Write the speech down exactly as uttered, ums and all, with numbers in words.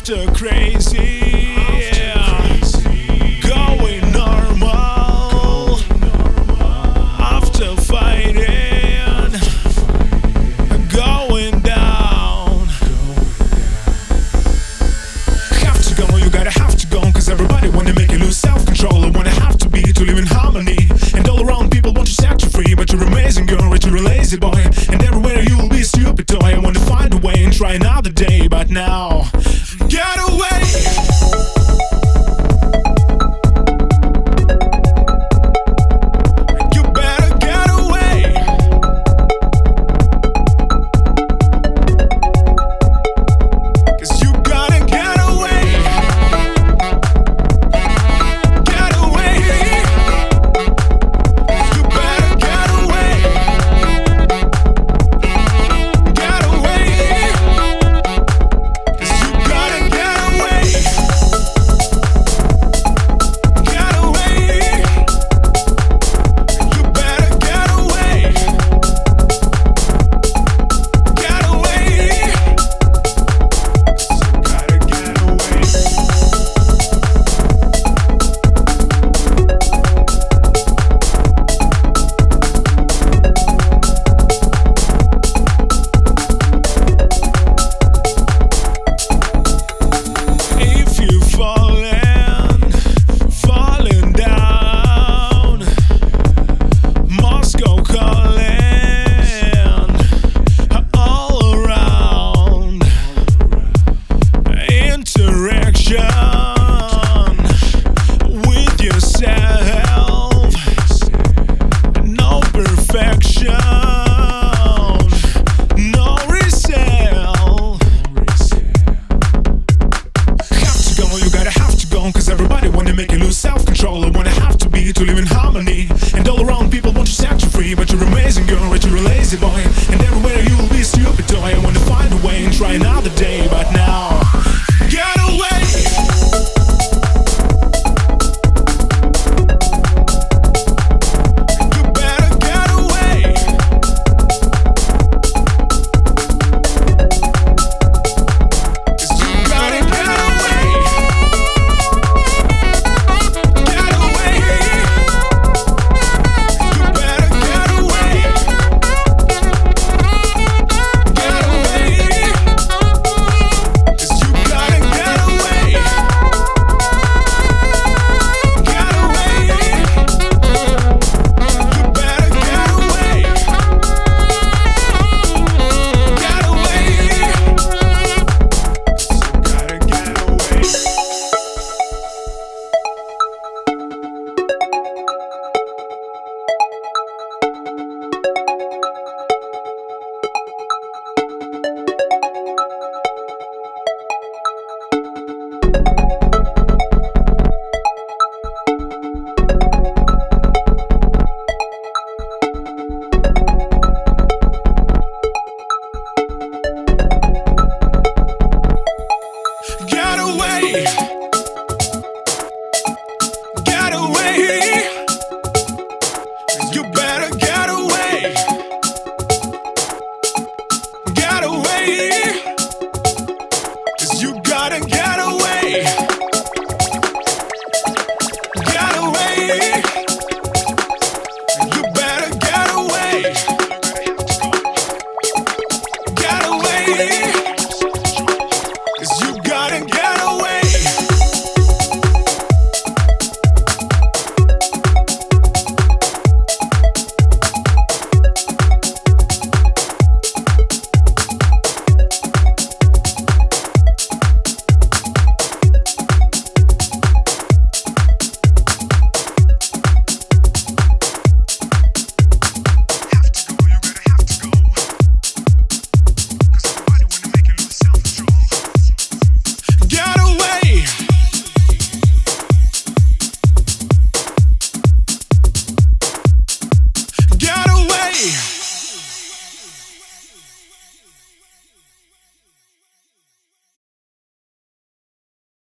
After crazy, going normal. After fighting, going down. Have to go, you gotta have to go, cause everybody wanna make you lose self-control. I wanna have to be to live in harmony, and all around people want to set you free. But you're amazing girl, but you're a lazy boy, and everywhere you will be a stupid toy. I wanna find a way and try another day, but now get away. Self-control, I wanna have to be to live in harmony, and all around people want to set you free. But you're amazing girl, but you're a lazy boy, and everywhere you will be a stupid toy. I wanna find a way and try another day, but now get away. Get away. You better get away. Get away. 'Cause you gotta get away.